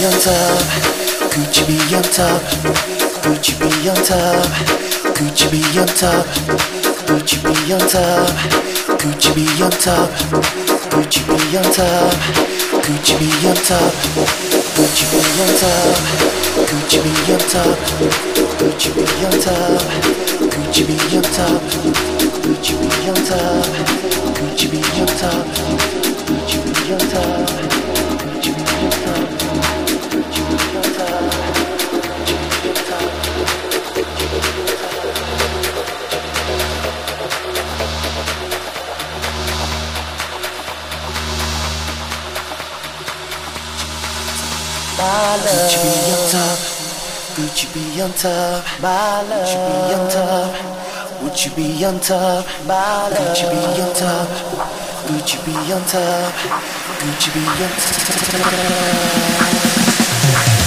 on top, Gucci be on top, Gucci be on top, Gucci be on top, Gucci be on top, Gucci be on top, Gucci be on top, Gucci be on top, Gucci be on top, Gucci be on top, Gucci be on top, Gucci be on top, Gucci be on top, Gucci be on top, Gucci be on top, Gucci be on top. Gucci be on top, Gucci be on top, Gucci be on top, Gucci be on top, Gucci be on top, Gucci be on top, Gucci be on top.